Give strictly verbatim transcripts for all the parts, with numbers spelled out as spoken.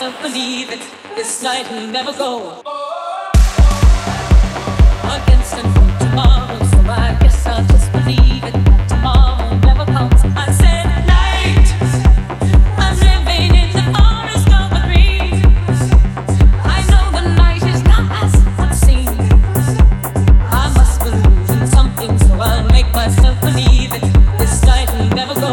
myself believe it. This night will never go. Against and from tomorrow, so I guess I'll just believe it. Tomorrow never comes. I said night. I'm living in the forest of the dreams. I know the night is not as it seems. I must believe in something, so I'll make myself believe it. This night will never go.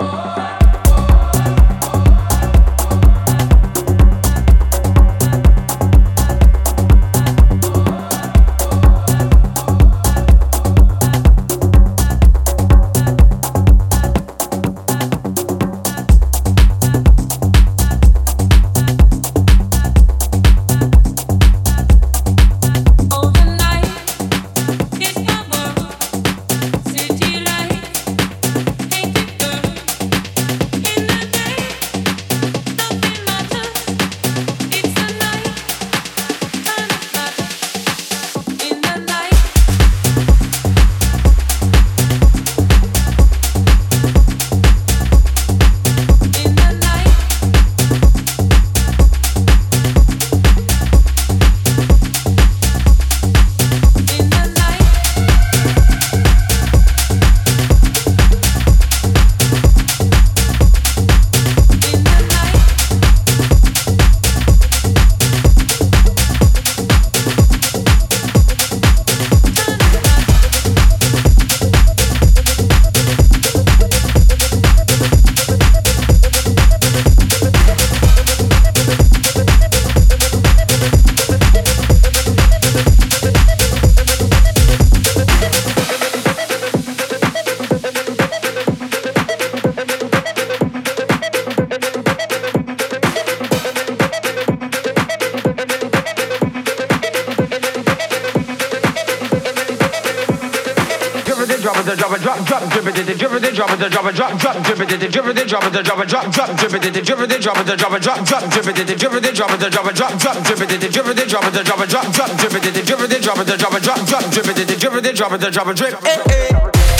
Drop it, drop it, drop, drop, drip it, drip it, drop it, drop it, drop, drop, drip it, drip it, drop it, drop it, drop, drop, drip it, drip it, drop it, drop it, drop, drop, drip it, drip it, drop it, drop it, drop, drop, drip it, drip it, drop it, drop it, drip. Eh, eh.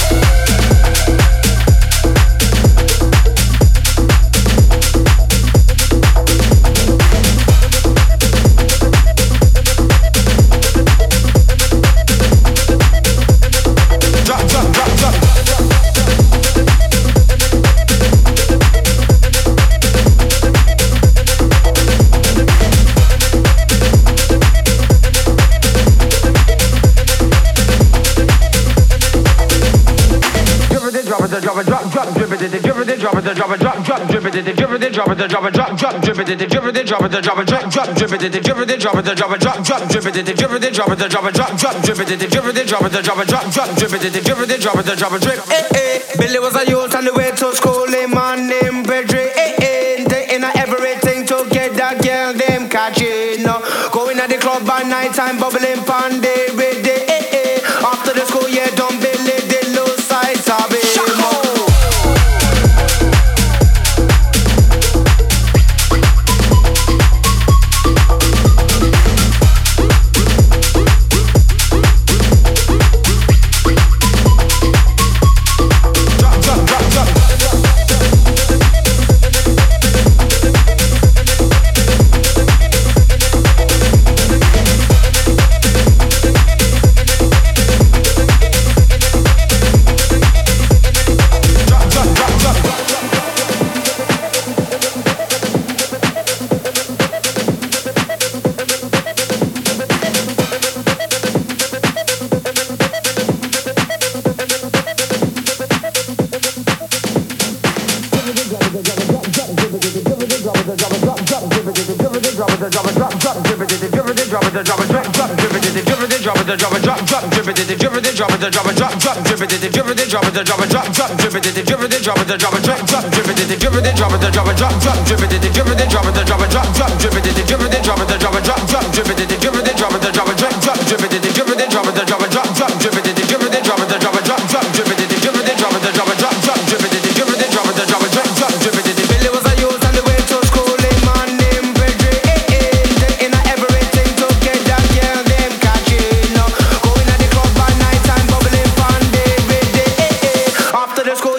Drop it, drop it, drop, drop, drip it, drip it, drop it, drop it, drop, drop, drip it, drip it, drop it, drop it, drop, drop, drip it, drip it, drop it, drop it, drop, drop, drip it, drip it, drop it, drop it, drop, drop, drip it, drip it, drop it, drop it, drop, drop, drip it, drip it, drop it, drop it, drip. Eh eh, Billy was a youth on the way to school, a man named Pedro. Eh eh, they in everything to get that girl them catching. Going at the club by night time, bubbling pandy with the eh eh. After the school, yeah, don't believe the low sides of it.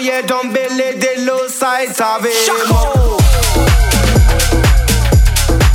sides of it.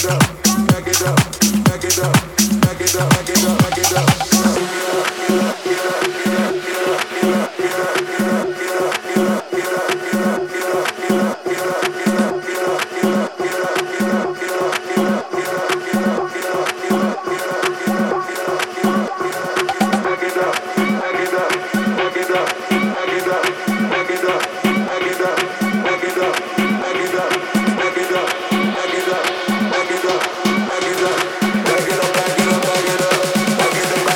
Back it up,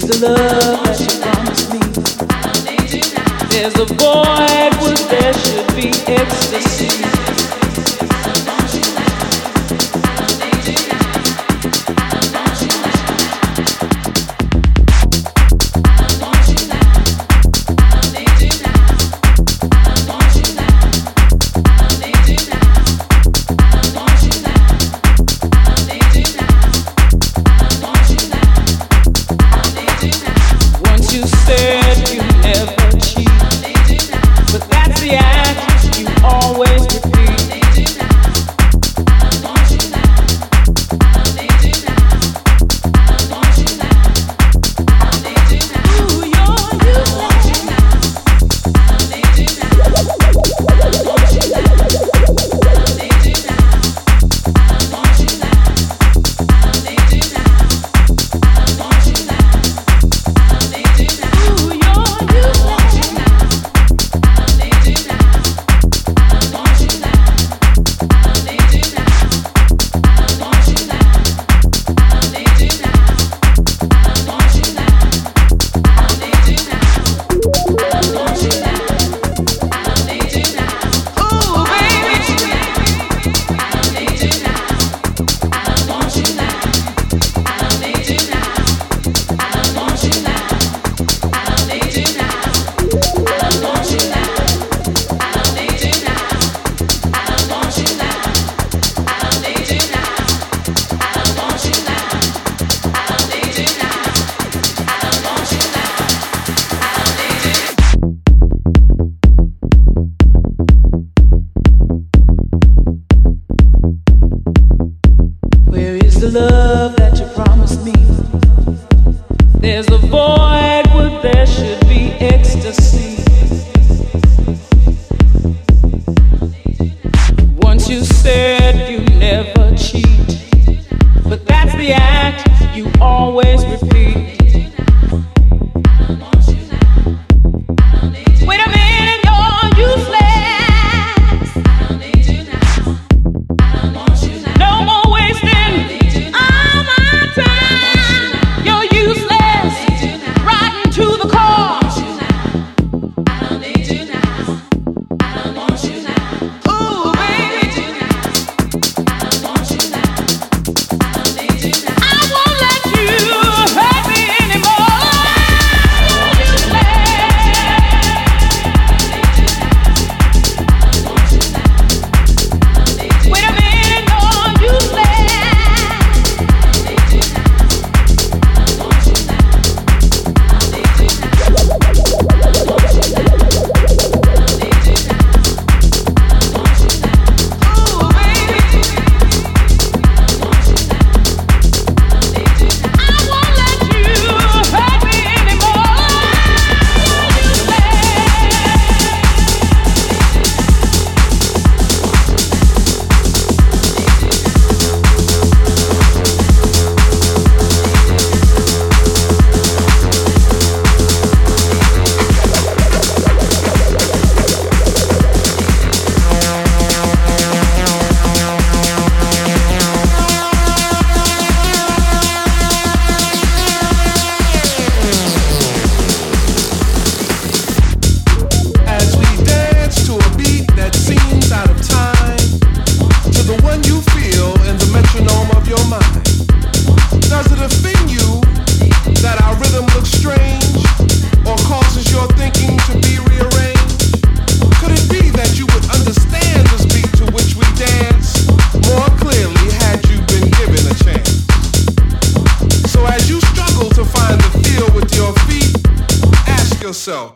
yourself.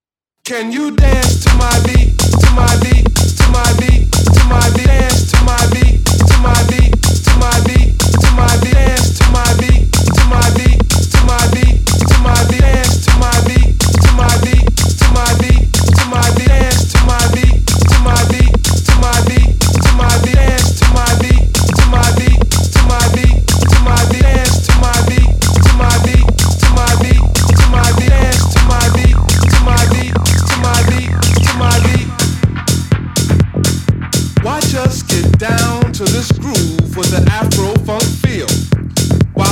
Can you dance to my beat, to my beat, to my beat, to my beat, dance to my beat, to my beat, to my beat, to my beat, dance to my beat, to my beat, to my beat, to my beat, dance to my beat, to my beat, to my beat, to my beat, dance to my beat, to my beat, to my beat, to my beat, dance to my beat, to my beat, to my beat, to my beat, dance to my beat, to my beat, to my beat, to my beat, dance to my beat, to my beat, to my beat, to my beat. Watch us get down to this groove with the Afro funk feel. While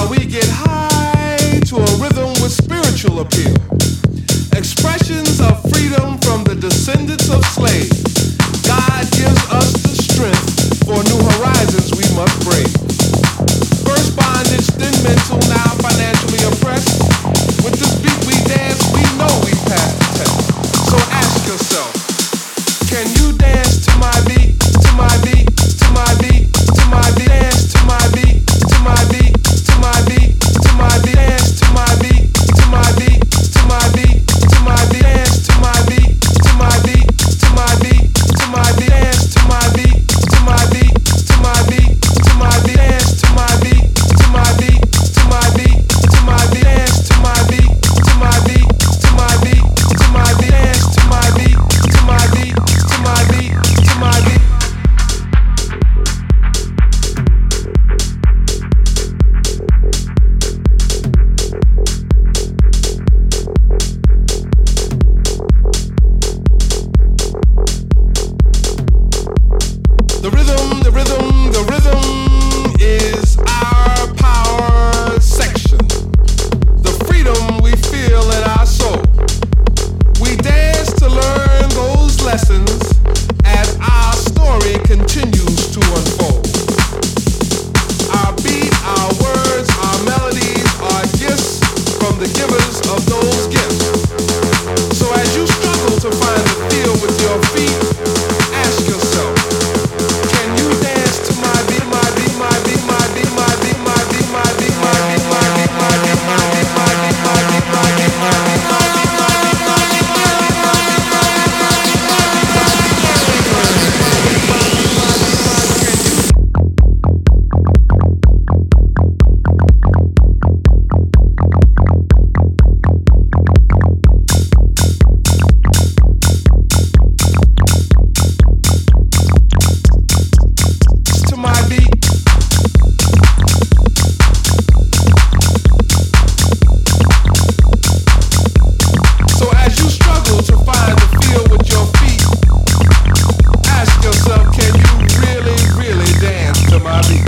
will appeal. Expressions of freedom from the descendants of slaves. God gives us the strength for new horizons we must brave. First bondage, then mental, now financially oppressed. With this beat we dance, we know we passed the test. So ask yourself, can you dance to my beat, to my beat, to my beat, to my beat, dance to my beat, to my beat, to my beat, to my beat, dance to my beat, to my beat, to my beat, to my beat, dance to my beat, to my beat, to my beat, to my beat, dance to my beat, to my beat, to my beat, to my beat, dance to my beat, to my beat, to my beat, to my beat, dance to my beat, to my beat, to my beat, to my beat, dance to my beat, to my beat, to my beat, to my beat. The rhythm, the rhythm, the rhythm is our power section. The freedom we feel in our soul. We dance to learn those lessons as our story continues to unfold. Our beat, our words, our melodies are gifts from the givers of those gifts. So as you struggle to find the feel with your feet, ask yourself, can you dance to my beat, my beat, my beat, my beat, my beat, my beat, my beat, my beat, my beat, my beat, my beat, my beat, my beat, my beat, my beat, my beat. To my beat. So as you struggle to find the feel with your feet, ask yourself, can you really, really dance to my beat?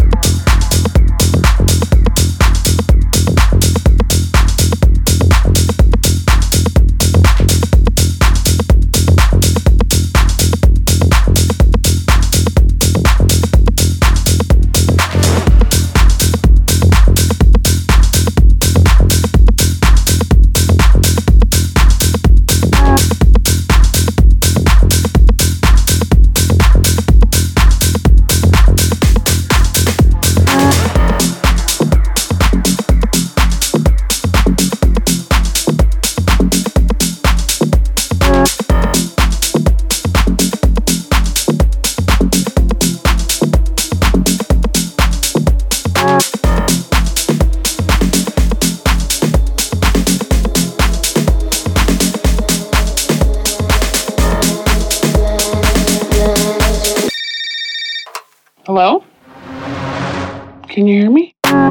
Hello? Can you hear me?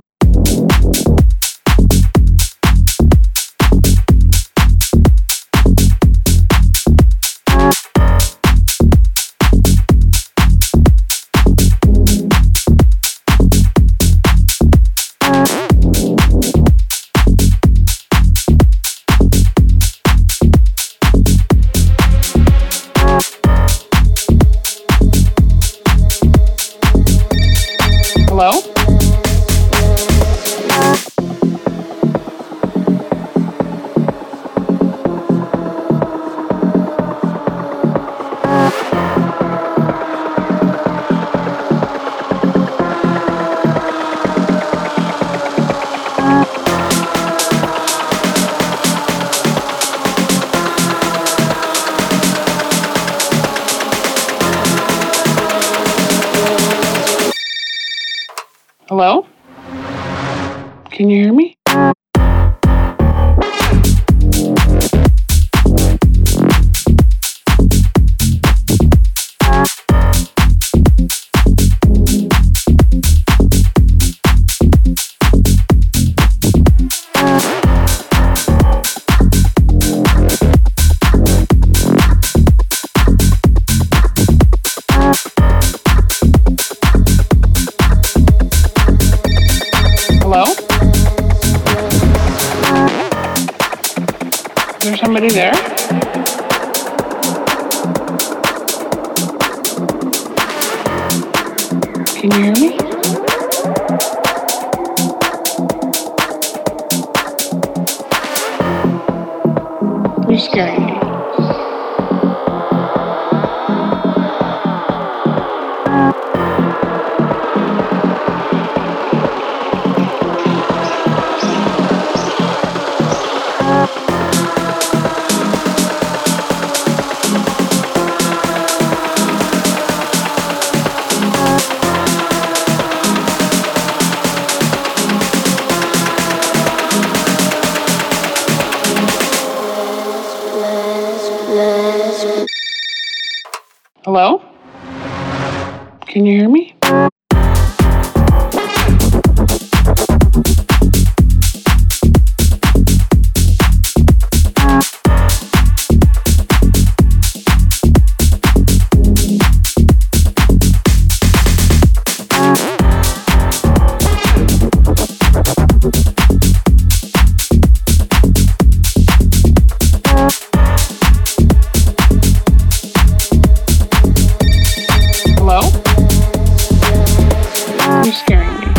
Hello? Hello? Can you hear me? Hello? there somebody there? Can you hear me? You're scaring me. Hello? Can you hear me? Hello? You're scaring me.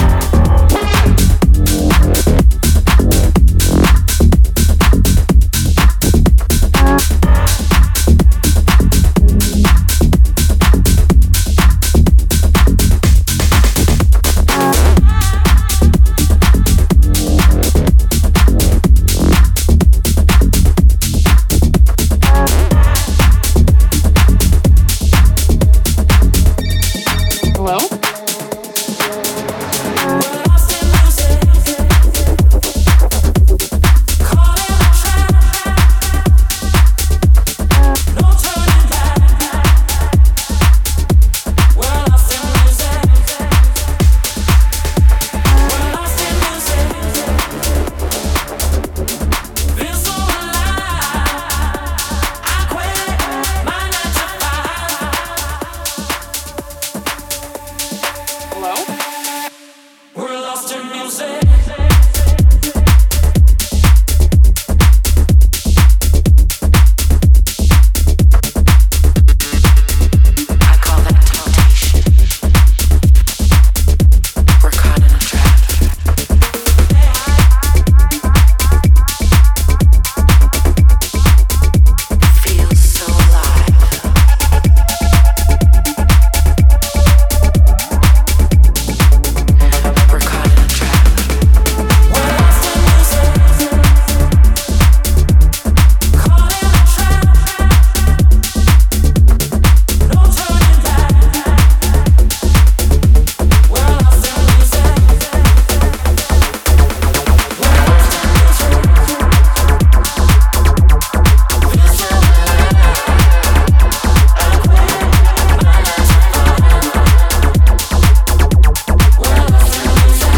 Hello? Hello? We're lost in music. I call that temptation. We're caught in a trap. Feels so alive. We're caught in a trap. We're lost in music. Caught in a trap. No turning back. We're lost in music. We're lost in music. Feel so alive. I quit my nine to five. We're lost in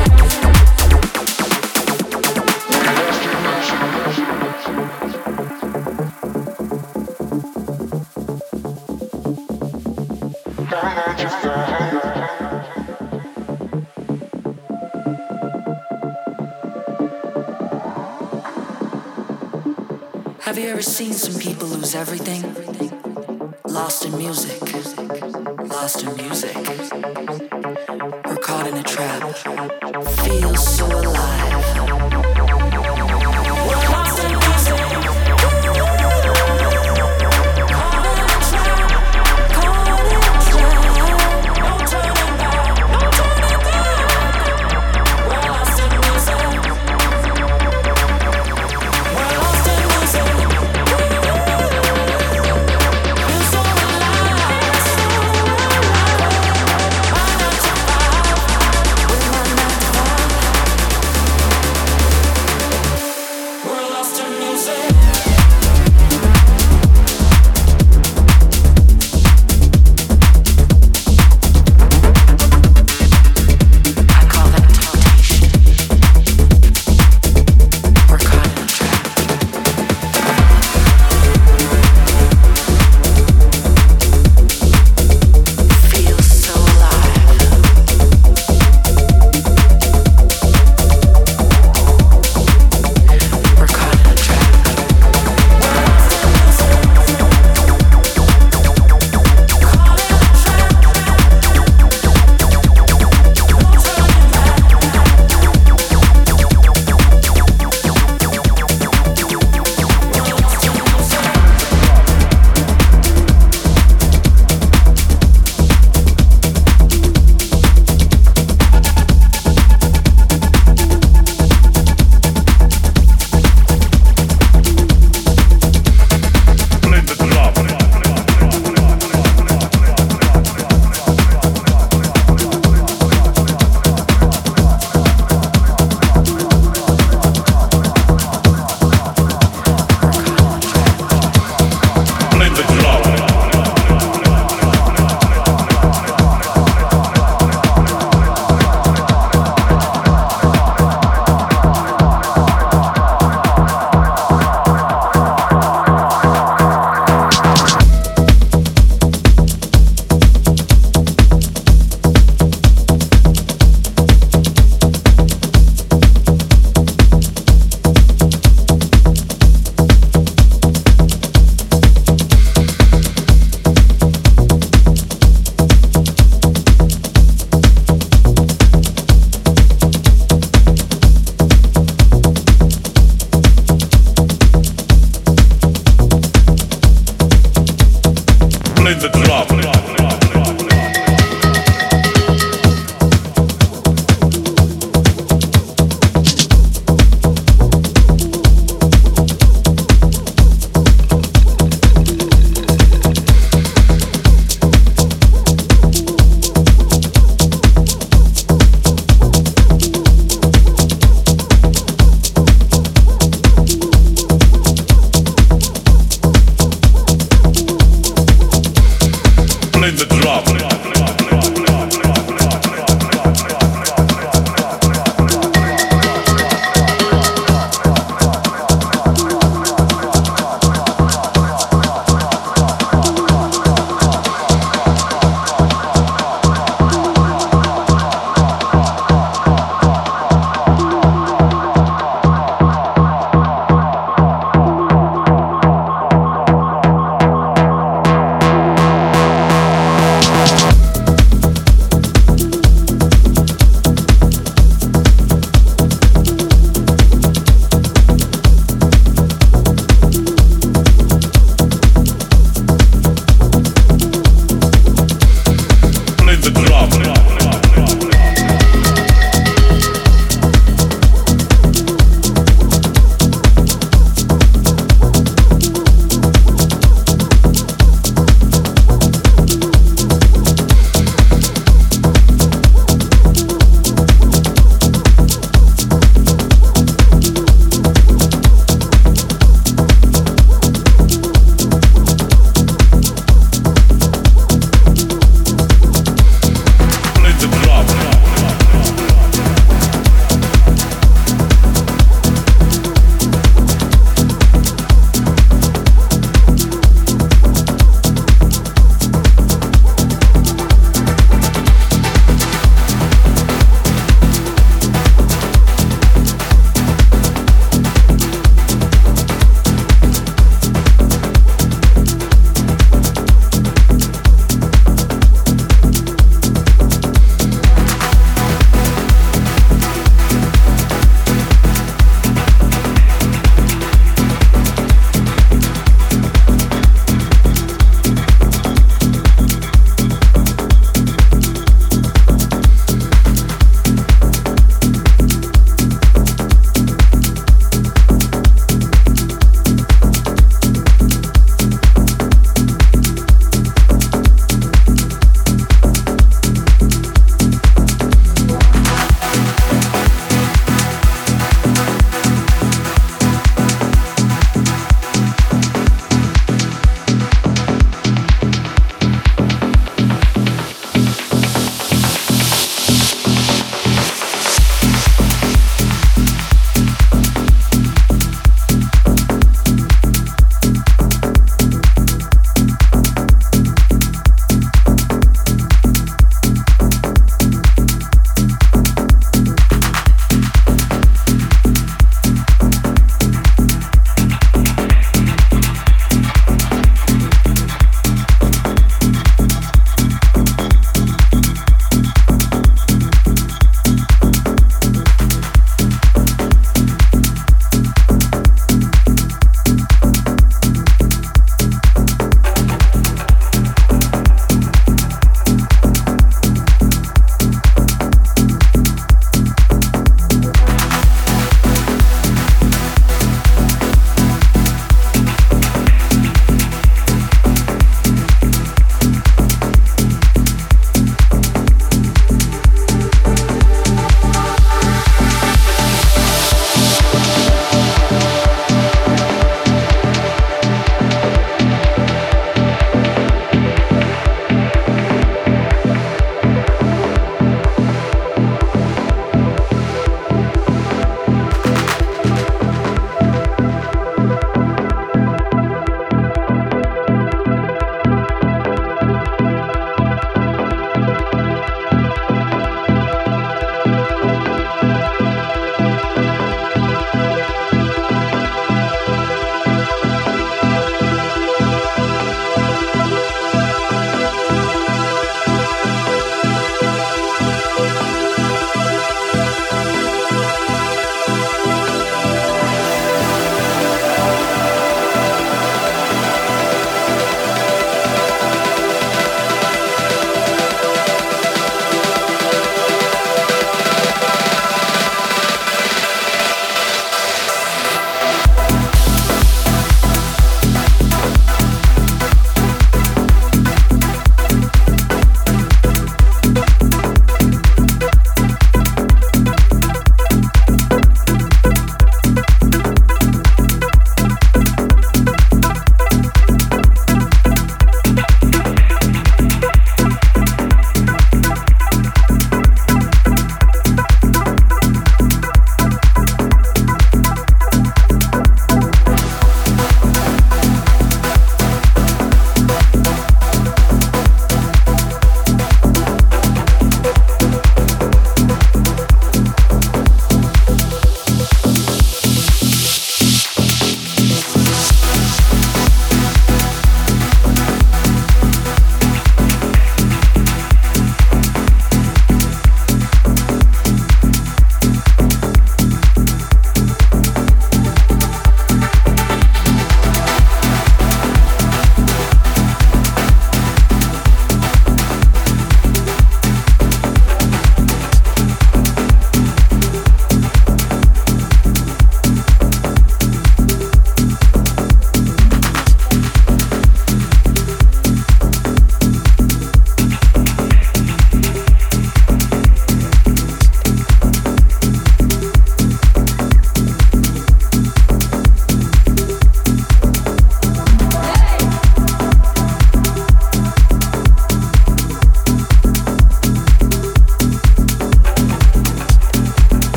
Have you ever seen some people lose everything? Lost in music. Lost in music. We're caught in a trap. Feels so alive.